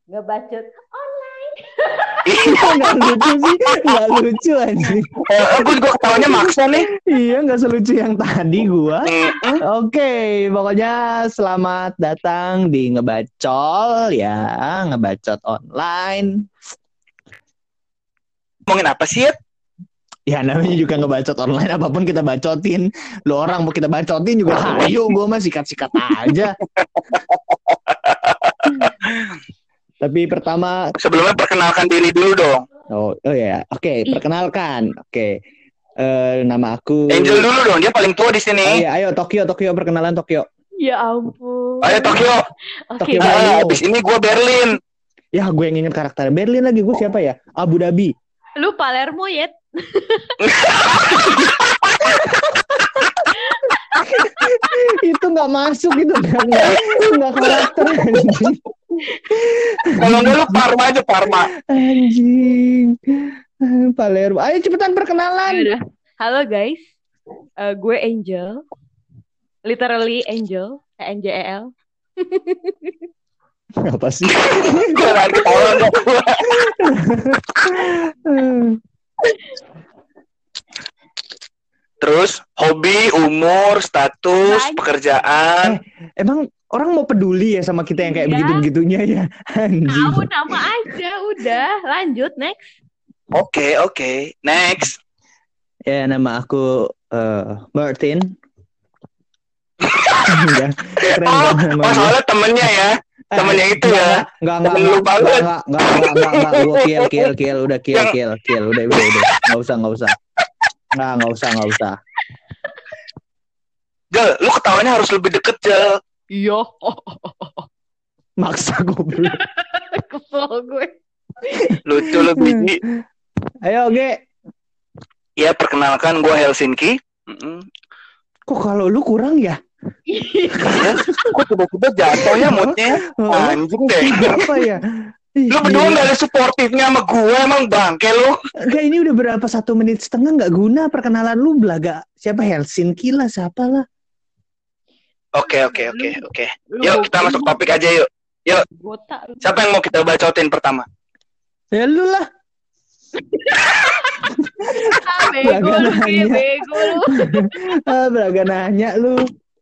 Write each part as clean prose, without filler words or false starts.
ngebacot online. Nggak lucu sih, nggak lucu anjing. Gue juga ketawanya maksa nih. Iya, nggak selucu yang tadi gua. Mm-mm. Oke, pokoknya selamat datang di Ngebacol ya, ngebacot online. Ngomongin apa sih ya? Ya namanya juga ngebacot online, apapun kita bacotin. Lo orang mau kita bacotin juga hayu, gua mah sikat-sikat aja. Tapi pertama, Sebelumnya perkenalkan diri dulu dong. oh ya, oke, perkenalkan, oke. Nama aku. Angel dulu dong, dia paling tua di Oh sini. iya, ayo Tokyo perkenalan Tokyo. Ya ampun. Ayo Tokyo. Oke. Tokyo Bayu. Abis ini gue Berlin. Ya, gue yang inget karakter Berlin lagi, gue siapa ya? Abu Dhabi. Lu Palermo ya? Itu nggak masuk itu, nggak karakter anjing. Kalau enggak lu Parma aja, Parma. Anjing. Palermo. Ayo cepetan perkenalan. Yaudah. Halo guys. Gue Angel. Literally Angel. ANJEL. Apa sih? Gue lagi ketawa enggak. Terus hobi, umur, status, Banyak. pekerjaan. Emang orang mau peduli ya sama kita yang kayak Iya. begitu-begitunya ya? Anjing. Tahu nama aja. Udah. Lanjut next. Oke. Next. Ya, nama aku Martin. Enggak, keren Oh, kan nama gue. soalnya temennya ya. Temennya itu ya. Enggak, Temen lu banget. enggak, gue kill, udah kill, udah, enggak usah. Enggak usah. Jel, lu ketawanya harus lebih deket, Jel. Iya. Maksa goblok. Kesel gue. Lucu lu biji. Ayo, Ge. Ya, perkenalkan gue Helsinki. Mm-mm. Kok kalau lu kurang ya? Ya, kok tiba-tiba jatuhnya moodnya anjing deh. Apa ya? Lu berdua gak ada suportifnya sama gue, emang bangke lu. Enggak, ini udah berapa 1 menit setengah nggak guna perkenalan lu belaga. Siapa Helsinki lah, siapa lah. Oke. Yuk kita masuk topik aja yuk. Yuk, Botak. siapa yang mau kita bacotin pertama? Ya lu lah. Bego lu, nanya. bego lu. Belaga nanya lu.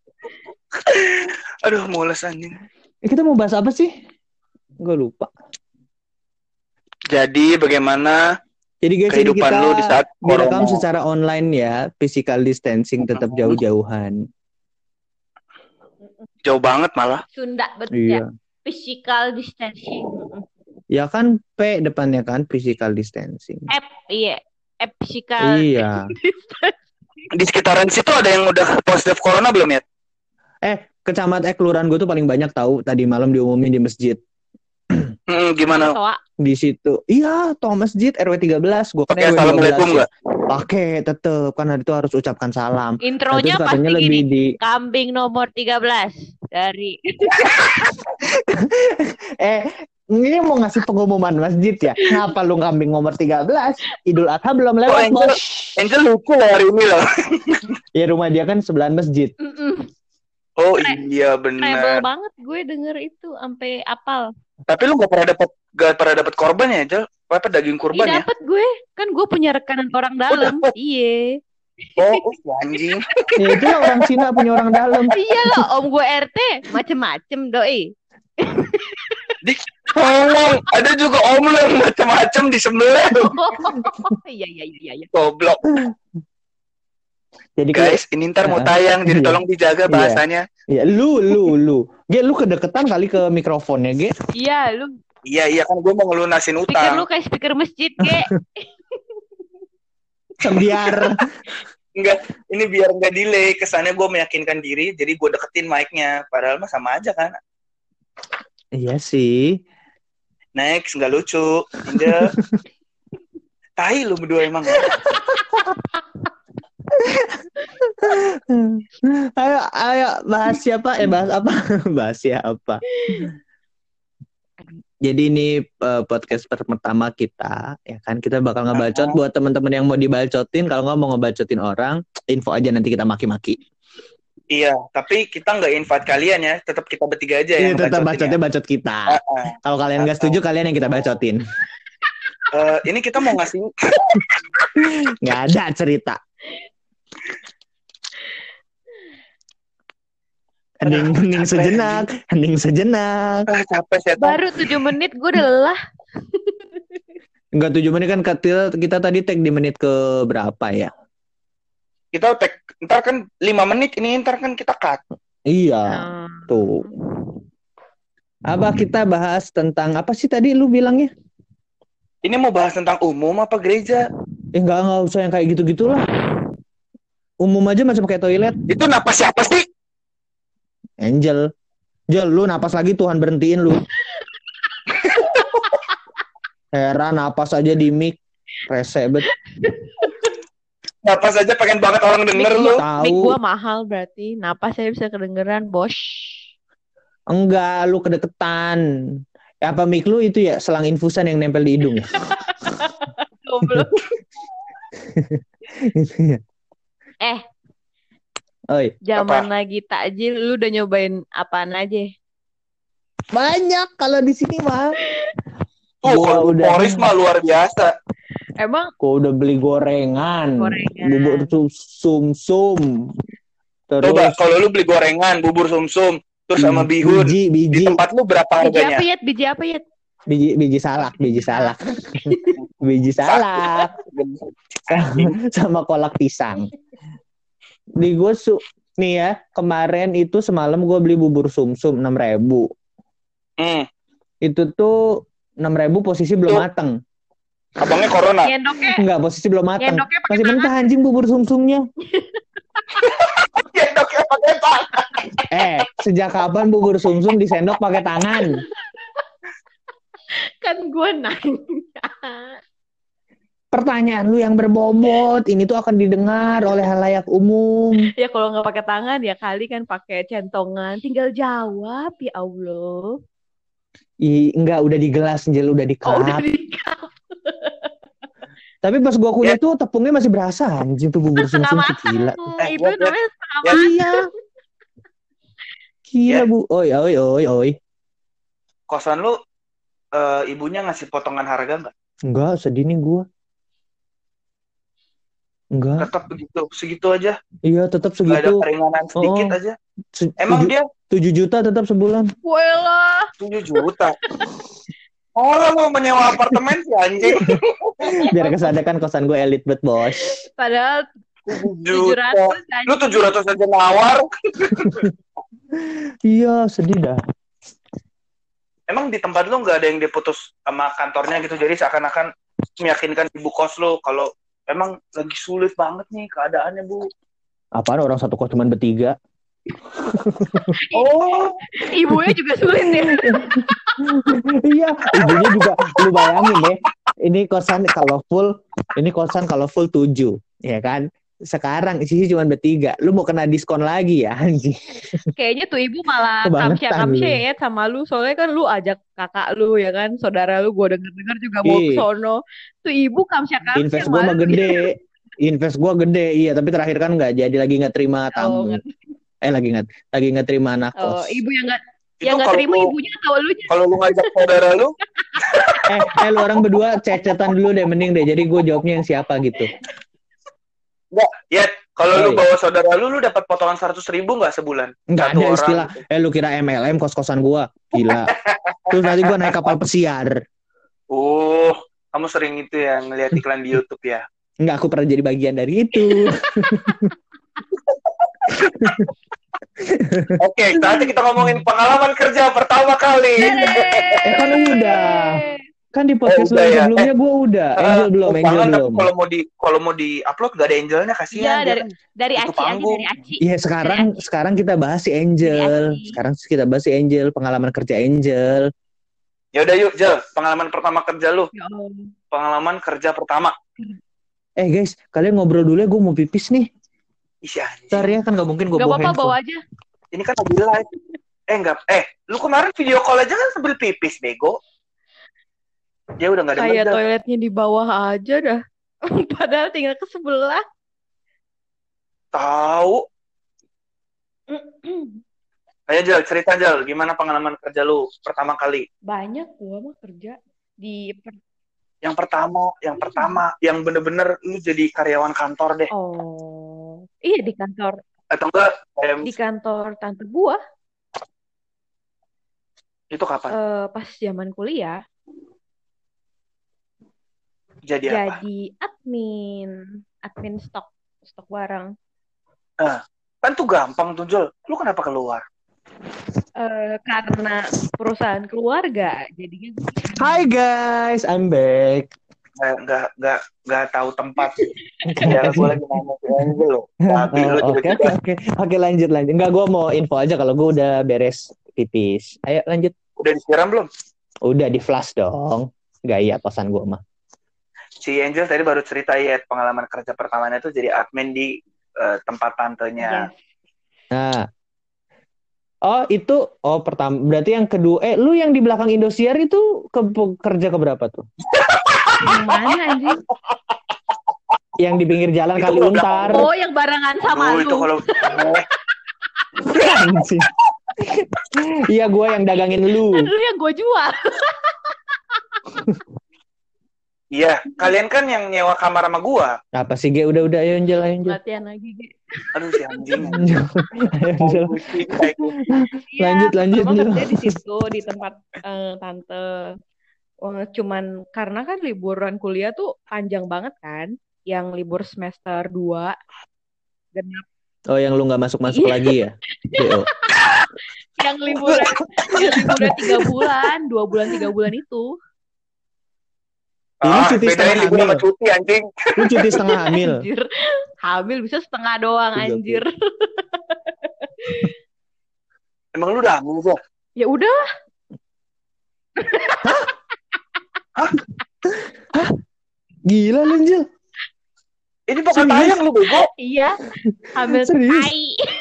Aduh, mules anjing. Kita mau bahas apa sih? Gue lupa. Jadi bagaimana Jadi guys, ini kehidupan kita lu di saat direkam corona? secara online ya, physical distancing, tetap jauh-jauhan. Jauh banget malah. Sunda betul ya. Iya. Physical distancing. Ya kan P depannya kan physical distancing. Iya. Physical Iya. Di sekitaran situ ada yang udah positif corona belum ya? Kelurahan gue tuh paling banyak tahu tadi malam diumumin di masjid. Gimana? Toa. Di situ. Iya, toh masjid RW 13. Gue kan Pakai RW 12. assalamualaikum nggak? Pakai tetep kan itu harus ucapkan salam. Intronya Terus pasti katanya gini. lebih di Kambing nomor 13 dari ini mau ngasih pengumuman masjid ya. Kenapa lu kambing nomor 13? Idul Adha belum lewat, Angel, Bos. Angel lucu loh hari ini loh. Ya rumah dia kan sebelahan masjid. Oh iya Rebel benar. banget gue denger itu sampai apal. Tapi lu gak pernah dapat korban ya, Jel? Apa daging kurban ya? Dapet gue. Kan gue punya rekanan orang dalam. dapet. Iya. Oh, anjing. Ya itu lah orang Cina punya orang dalam. Iya loh, om gue RT macem-macem doi. Tolong, ada juga om lu yang macam-macam di sebelah. Iya. Goblok. Jadi Guys, ini ntar mau tayang, jadi Iya. tolong dijaga bahasanya. ya lu. Ge, lu kedeketan kali ke mikrofonnya, Ge. Iya, lu Iya, kan gue mau ngelunasin speaker lu utang. kayak speaker masjid, Ge. Biar Enggak, ini biar nggak delay. Kesannya gue meyakinkan diri, jadi gue deketin mic-nya. Padahal mah sama aja kan. iya sih. Next, nggak lucu. Indah. Tai lu berdua emang. Ayo bahas siapa? Bahas apa? Bahas siapa? Jadi ini podcast pertama kita, ya kan? Kita bakal ngebacot buat teman-teman yang mau dibacotin. Kalau nggak mau ngebacotin orang, info aja nanti kita maki-maki. Iya, tapi kita nggak invite kalian ya. Tetap kita bertiga aja Iya yang tetap bacotin bacotnya ya. bacot kita. Heeh. Kalau kalian nggak setuju, kalian yang kita bacotin. Ini kita mau ngasih Nggak ada cerita. Hening sejenak, hening sejenak. capek setan. Baru 7 menit gue udah lelah. Enggak 7 menit kan kita tadi tag di menit ke berapa ya? Kita tag ntar kan 5 menit ini ntar kan kita cut. Iya, tuh. Apa kita bahas tentang apa sih tadi lu bilangnya? Ini mau bahas tentang umum apa gereja? Enggak usah yang kayak gitu-gitulah. Umum aja macam kayak toilet. Itu napas siapa sih? Angel, lu napas lagi Tuhan berhentiin lu. Heran napas aja di mic, rese bet. Napas aja pengen banget orang denger lu. Mic Tahu? gue mahal berarti. Napas saya bisa kedengeran, bos. Enggak, lu kedeketan. Apa mic lu itu ya selang infusan yang nempel di hidung ya? Goblok. Itu ya. Oi, Zaman lagi takjil, lu udah nyobain apaan aja? banyak kalau di sini mah. Tuh, Gua kalau udah- Boris mah luar biasa. Emang Gua udah beli gorengan. Bubur sum-sum. Terus Coba kalau lu beli gorengan, bubur sumsum, terus sama bihun. Di biji tempat lu berapa biji harganya? apa ya? Biji apa ya? biji salak. Biji salak sama kolak pisang. Di gue nih ya, kemarin itu semalam gue beli bubur sumsum 6.000. Itu tuh 6.000 posisi belum mateng. Abangnya corona. Nyendoknya, Enggak, posisi belum mateng. nyendoknya pakai Masih mentah anjing bubur sumsumnya. Sendoknya pakai tangan. Sejak kapan bubur sumsum disendok pakai tangan? kan gue nanya. Pertanyaan lu yang berbobot ini tuh akan didengar oleh halayak umum. Ya kalau nggak pakai tangan ya kali kan pakai centongan. Tinggal jawab ya Allah. Enggak, udah di gelas, Angel, udah di cup. Oh udah di Tapi pas gua kunyah tuh tepungnya masih berasa anjing tuh bubur setengah sumsum matang. gila. Itu namanya setengah Ya. matang. Iya. Gila, Bu. Oi. Kosan lu ibunya ngasih potongan harga nggak? Enggak, sedih nih gua. Enggak. Tetap begitu, segitu aja. Iya, tetap Nggak ada segitu. keringanan sedikit aja. Emang 7 dia juta tetap sebulan. Walah. 7 juta. Orang mau menyewa apartemen sih anjing. Biar kesadar kan kosan gue elit bet, Bos. Padahal 7 700 juta. Lu 700 aja nawar. Iya, sedih dah. Emang di tempat lu nggak ada yang diputus sama kantornya gitu, jadi seakan-akan meyakinkan ibu kos lu kalau emang lagi sulit banget nih keadaannya, Bu. Apaan orang satu kos cuma bertiga? Oh, ibunya juga sulit ya. Iya, ibunya juga lu bayangin deh. Ini kosan kalau full 7, ya kan? Sekarang isinya cuma bertiga. Lu mau kena diskon lagi ya, anjing. Kayaknya tuh ibu malah Kebangetan kamsya lu. ya sama lu. Soalnya kan lu ajak kakak lu ya kan, saudara lu gue denger juga mau ke sono. Tuh ibu kamsya Invest gua mah gede. Invest gua gede, iya. Tapi terakhir kan nggak jadi, lagi nggak terima tamu. Lagi nggak terima anak kos. Ibu yang itu nggak kalau terima lu- ibunya atau lu? Kalau lu ngajak saudara lu, Lu orang berdua cecetan dulu deh, mending deh. Jadi gue jawabnya yang siapa gitu. enggak, ya kalau lu Oi. bawa saudara lu dapat potongan 100.000 nggak sebulan? Nggak Satu ada orang istilah. gitu. Lu kira MLM kos-kosan gua? Gila. Terus nanti gua naik kapal pesiar. Kamu sering itu ya ngelihat iklan di YouTube ya? Nggak, aku pernah jadi bagian dari itu. Oke, saatnya kita ngomongin pengalaman kerja pertama kali. Kan udah. Kan di podcast udah lu ya. sebelumnya gua udah. Angel belum. Jangan, tapi kalau mau di upload gak ada Angelnya, kasihan. Iya, dia kan. dari Itu Aci aja, panggung. dari Aci. Iya, sekarang kita bahas si Angel. Pengalaman kerja Angel. Ya udah yuk, Jel, pengalaman pertama kerja lu. Ya Allah. Pengalaman kerja pertama. Guys, kalian ngobrol dulu ya, gue mau pipis nih. Ih, anjing. Ntar ya, kan gak mungkin gue Gak bawa apa-apa, handphone. bawa aja. Ini kan lagi live. Enggak. Lu kemarin video call aja kan sambil pipis, bego. Dia udah gak ada Kayak meja. toiletnya di bawah aja dah. Padahal tinggal ke sebelah. Tahu. Ayo Jal, cerita Jal, gimana pengalaman kerja lu pertama kali? Banyak gua mah kerja di Yang pertama, yang bener-bener lu jadi karyawan kantor deh. Oh, iya di kantor. Atau enggak? Di kantor tante gua. Itu kapan? Pas zaman kuliah. Jadi apa? Jadi admin stok barang. Kan tuh gampang tuh Jal. Lu kenapa keluar? Karena perusahaan keluarga, jadinya. Hi guys, I'm back. Nggak tahu tempat. Ya, gue lagi nanya ke Angel loh. Oke, lanjut. Enggak, gue mau info aja kalau gue udah beres pipis. Ayo lanjut. Udah disiram belum? Udah di flash dong. Gaya kosan gue mah. Si Angel tadi baru cerita ya pengalaman kerja pertamanya tuh jadi admin di tempat tantenya. Yes. Nah. Pertama. Berarti yang kedua, lu yang di belakang Indosiar itu kerja keberapa tuh? Yang mana anjing? Yang di pinggir jalan Itu Kali Untar. Oh, yang barengan sama lu. Itu kalau Iya, gue yang dagangin lu. Kan lu yang gue jual. Iya, kalian kan yang nyewa kamar sama gua. Apa sih, Ge? Udah, ayo Angel. Latihan lagi, Ge. Aduh, si anjing. Angel. Lanjut. Kerja di situ, di tempat tante. Cuman karena kan liburan kuliah tuh panjang banget kan. Yang libur semester 2. Genap. Oh, yang lu gak masuk lagi ya? Yang liburan 3 bulan, 2 bulan 3 bulan itu. Ini cuti setengah hamil. Sama cuti anjing. Lu cuti setengah hamil. Anjir. Hamil bisa setengah doang anjir. Emang lu udah hamil kok? Ya udah. Hah? Gila lu, Angel. Ini bakal tayang lu bego. Iya. Hamil tai.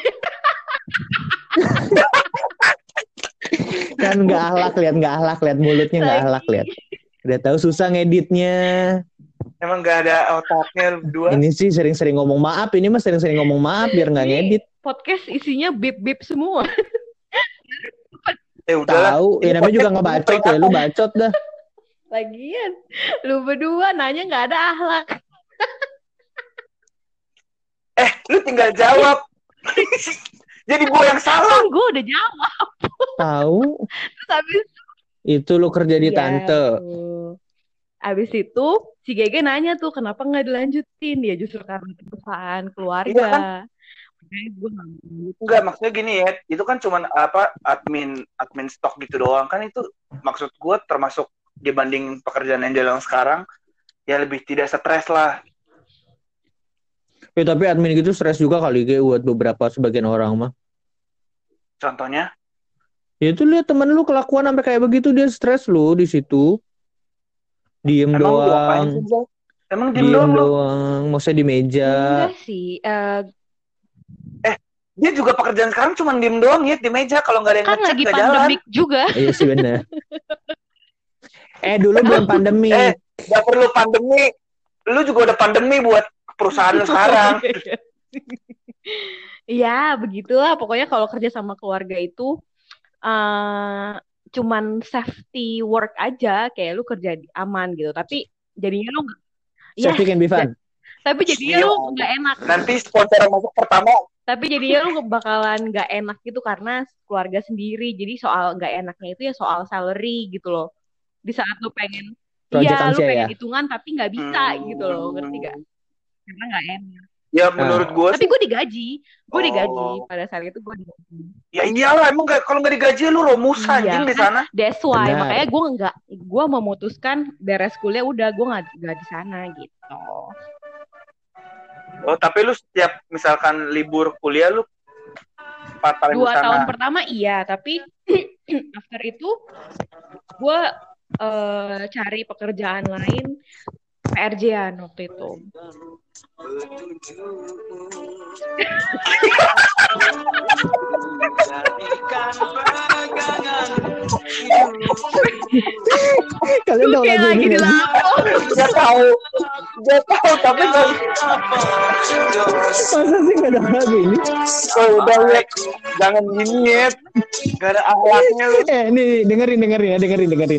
Kan nggak ahlak lihat mulutnya nggak ahlak lihat. Udah tahu susah ngeditnya. Emang nggak ada otaknya berdua. Ini sih sering-sering ngomong maaf. Ini mah sering-sering ngomong maaf biar nggak ngedit. Podcast isinya bip semua. Tahu. Ya namanya juga ngebacot ya. Lu bacot dah. Lagian lu berdua nanya nggak ada akhlak. Lu tinggal jawab. Jadi gue yang salah. Kan gue udah jawab. Tahu. Terus habis itu lu kerja di tante. Abis itu si Gege nanya tuh kenapa nggak dilanjutin, ya justru karena perusahaan keluarga. Iya kan? Enggak, maksudnya gini ya, itu kan cuman admin stok gitu doang kan, itu maksud gue termasuk dibanding pekerjaan Angel yang sekarang ya lebih tidak stres lah. Tapi admin gitu stres juga kali Ge buat sebagian orang mah. Contohnya? Ya itu lihat temen lu kelakuan sampai kayak begitu, dia stres lu di situ. Diem doang. Emang diem doang. Maksudnya di meja. Enggak sih. Dia juga pekerjaan sekarang cuma diem doang ya di meja, kalau nggak ada yang ngecek nggak jalan. Kan lagi pandemik juga. Iya sih benar. Dulu belum pandemi. Nggak perlu pandemi. Lu juga udah pandemi buat perusahaan lu sekarang. Iya begitulah. Pokoknya kalau kerja sama keluarga itu cuman safety work aja, kayak lu kerja aman gitu, tapi jadinya lu safety can be fun. Tapi jadinya lu nggak enak. Nanti sponsor masuk pertama. Tapi jadinya lu bakalan nggak enak gitu karena keluarga sendiri. Jadi soal nggak enaknya itu ya soal salary gitu loh. Di saat lu pengen, iya lu pengen hitungan tapi nggak bisa gitu loh, ngerti gak? Karena nggak enak. Ya menurut gue. Tapi gue digaji. Pada saat itu gue digaji. Ya iyalah, emang kalau nggak digaji lu romus anjing di sana. That's why makanya gue memutuskan beres kuliah udah gue nggak di sana gitu. Oh tapi lu setiap misalkan libur kuliah lu 4 tahun 2 tahun pertama iya, tapi after itu gue cari pekerjaan lain, PRJ-an waktu itu. Kalian tahu lagu ini? Gak tahu. Gak tahu tapi gak. Masa sih gak ada lagu ini? Oh, udah lihat, jangan gini ya. Gak ada akhlaknya lu. Nih dengerin ya, dengerin.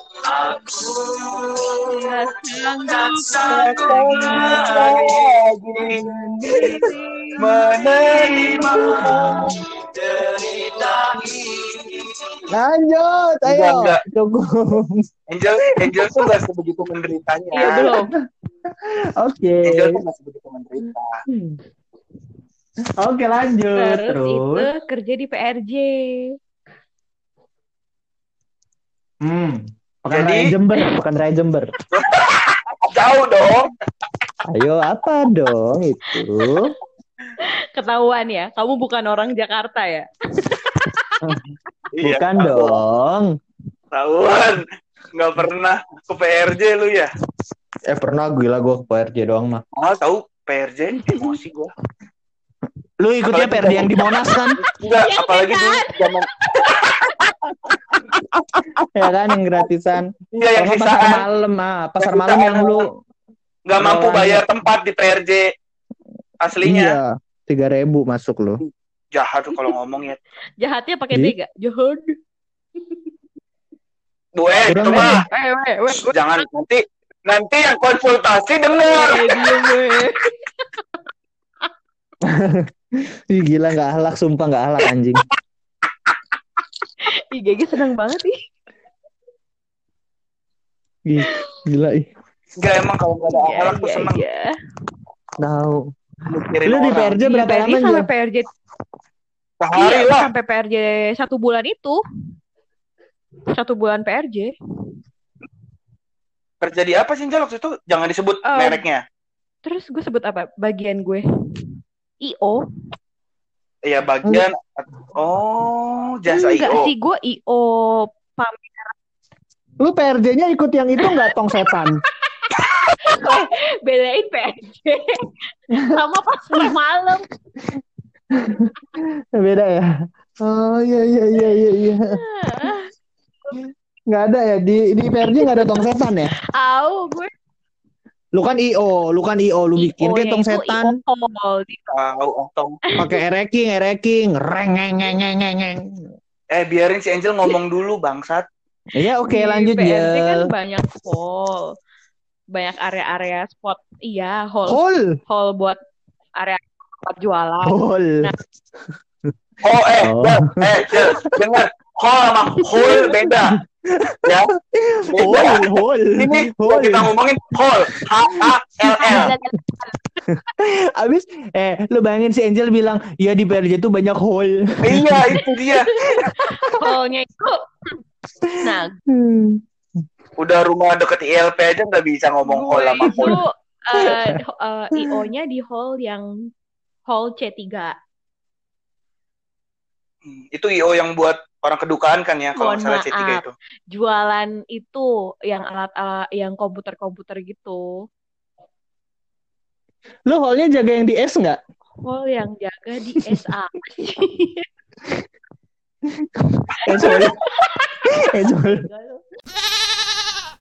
Menerima lanjut, ayo. Enggak. Cukup. Angel tuh gak sebegitu menderitanya. Iya belum. Oke. Angel tuh gak sebegitu menderita. Oke, lanjut. Terus itu kerja di PRJ. Pekan Raya Jember. Jauh dong. Ayo, apa dong itu? Ketahuan ya, kamu bukan orang Jakarta ya? Bukan dong. Tahuan. Nggak pernah ke PRJ lu ya? Pernah, gila gue ke PRJ doang mah. Tahu PRJ emosi gue. Lu ikutnya PRJ yang di Monas kan? Enggak, apalagi dulu zaman ya kan yang gratisan. Iya, yang sisaan. Pasar malam yang lu nggak mampu bayar tempat di PRJ aslinya. Iya, 3.000 masuk lu. Jahat tuh kalau ngomong ya. Jahatnya pakai tiga. Jahat. Itu mah. Jangan nanti yang konsultasi dengar. Ih, gila nggak halak, sumpah nggak halak anjing. Ih, GG senang banget ih. Ih, gila ih. Enggak, emang kalau nggak ada halak tuh seneng. Tahu. Lu di PRJ berapa lama aja? Sampai PRJ sehari lah. Sampai PRJ 1 bulan itu. 1 bulan PRJ. Kerja di apa sih, Jal, waktu itu? Jangan disebut mereknya. Terus gue sebut apa? Bagian gue. IO. Iya, bagian. Oh, jasa IO. Enggak sih, gue IO pamer. Lu PRJ-nya ikut yang itu nggak, tong setan? Belain PRJ sama pasar malam. Beda ya? Oh iya. Nggak ada ya di PRJ, nggak ada tong setan ya? Gue. Lu kan IO, lu bikin kayak tong setan. Pakai ereking, reng. Biarin si Angel ngomong dulu, bangsat. Iya, oke, lanjut ya. PRJ kan banyak hall. Banyak area-area spot. Iya, hall buat area tempat jualan. Hall. Nah. Dengar. Hall sama hall beda. Ya. Hall. Ini kita ngomongin hall. HALL. Abis lu bayangin si Angel bilang, "Ya di PRJ tuh banyak hall." Iya, itu dia. Hallnya itu. Nah, udah rumah deket ILP aja nggak bisa ngomong hall sama hall. IO-nya di hall yang hall C3. Itu IO yang buat orang kedukaan kan ya, kalau misalnya C3 itu. Jualan itu yang alat-alat yang komputer gitu. Lu hallnya jaga yang di S nggak? Hall yang jaga di SA. Sorry.